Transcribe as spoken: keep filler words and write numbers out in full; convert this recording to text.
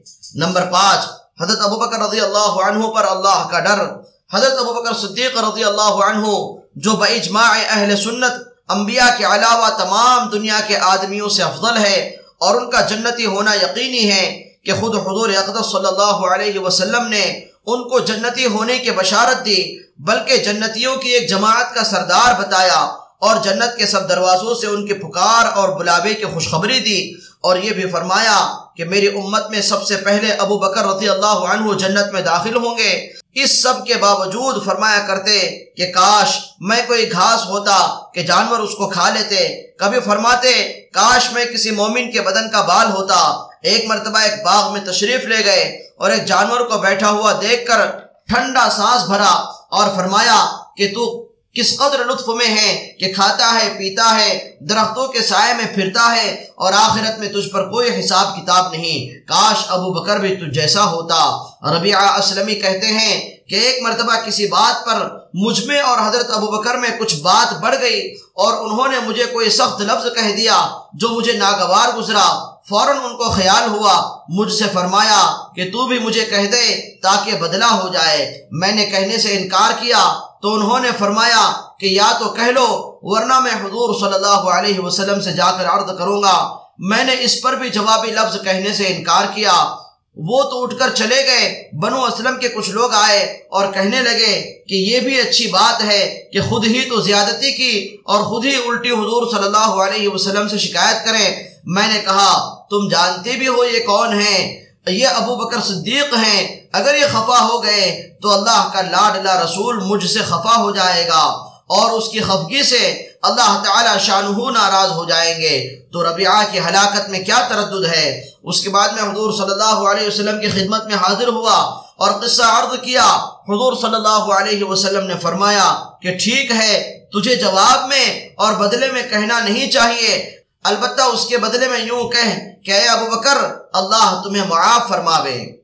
Number پانچ، حضرت ابوبکر رضی اللہ عنہ پر اللہ کا ڈر۔ حضرت ابوبکر صدیق رضی اللہ عنہ جو باجماع اہل سنت انبیاء کے علاوہ تمام دنیا کے آدمیوں سے افضل ہے اور ان کا جنتی ہونا یقینی ہے کہ خود حضور اقدس صلی اللہ علیہ وسلم نے ان کو جنتی ہونے کی بشارت دی، بلکہ جنتیوں کی ایک جماعت کا سردار بتایا اور جنت کے سب دروازوں سے ان کے پکار اور بلاوے کی خوشخبری دی، اور یہ بھی فرمایا کہ میری امت میں سب سے پہلے ابو بکر رضی اللہ عنہ جنت میں داخل ہوں گے۔ اس سب کے باوجود فرمایا کرتے کہ کاش میں کوئی گھاس ہوتا کہ جانور اس کو کھا لیتے، کبھی فرماتے کاش میں کسی مومن کے بدن کا بال ہوتا۔ ایک مرتبہ ایک باغ میں تشریف لے گئے اور ایک جانور کو بیٹھا ہوا دیکھ کر ٹھنڈا سانس بھرا اور فرمایا کہ تو کس قدر لطف میں ہے کہ کھاتا ہے، پیتا ہے، درختوں کے سائے میں پھرتا ہے اور آخرت میں تجھ پر کوئی حساب کتاب نہیں، کاش ابو بکر بھی تجھ جیسا ہوتا۔ ربیعہ اسلمی کہتے ہیں کہ ایک مرتبہ کسی بات پر مجھ میں اور حضرت ابو بکر میں کچھ بات بڑھ گئی اور انہوں نے مجھے کوئی سخت لفظ کہہ دیا جو مجھے ناگوار گزرا۔ فوراً ان کو خیال ہوا، مجھ سے فرمایا کہ تو بھی مجھے کہہ دے تاکہ بدلہ ہو جائے۔ میں نے کہنے سے انکار کیا تو انہوں نے فرمایا کہ یا تو کہہ لو ورنہ میں حضور صلی اللہ علیہ وسلم سے جا کر عرض کروں گا۔ میں نے اس پر بھی جوابی لفظ کہنے سے انکار کیا۔ وہ تو اٹھ کر چلے گئے۔ بنو اسلم کے کچھ لوگ آئے اور کہنے لگے کہ یہ بھی اچھی بات ہے کہ خود ہی تو زیادتی کی اور خود ہی الٹی حضور صلی اللہ علیہ وسلم سے شکایت کریں۔ میں نے کہا تم جانتے بھی ہو یہ کون ہیں؟ یہ ابو بکر صدیق ہیں۔ اگر یہ خفا ہو گئے تو اللہ کا لاڈلا رسول مجھ سے خفا ہو جائے گا اور اس کی خفگی سے اللہ تعالی شانہ ناراض ہو جائیں گے۔ تو ربیعہ کی ہلاکت میں کیا تردد ہے؟ اس کے بعد میں حضور صلی اللہ علیہ وسلم کی خدمت میں حاضر ہوا اور قصہ عرض کیا۔ حضور صلی اللہ علیہ وسلم نے فرمایا کہ ٹھیک ہے، تجھے جواب میں اور بدلے میں کہنا نہیں چاہیے، البتہ اس کے بدلے میں یوں کہہ کہ اے ابو بکر اللہ تمہیں معاف فرماوے۔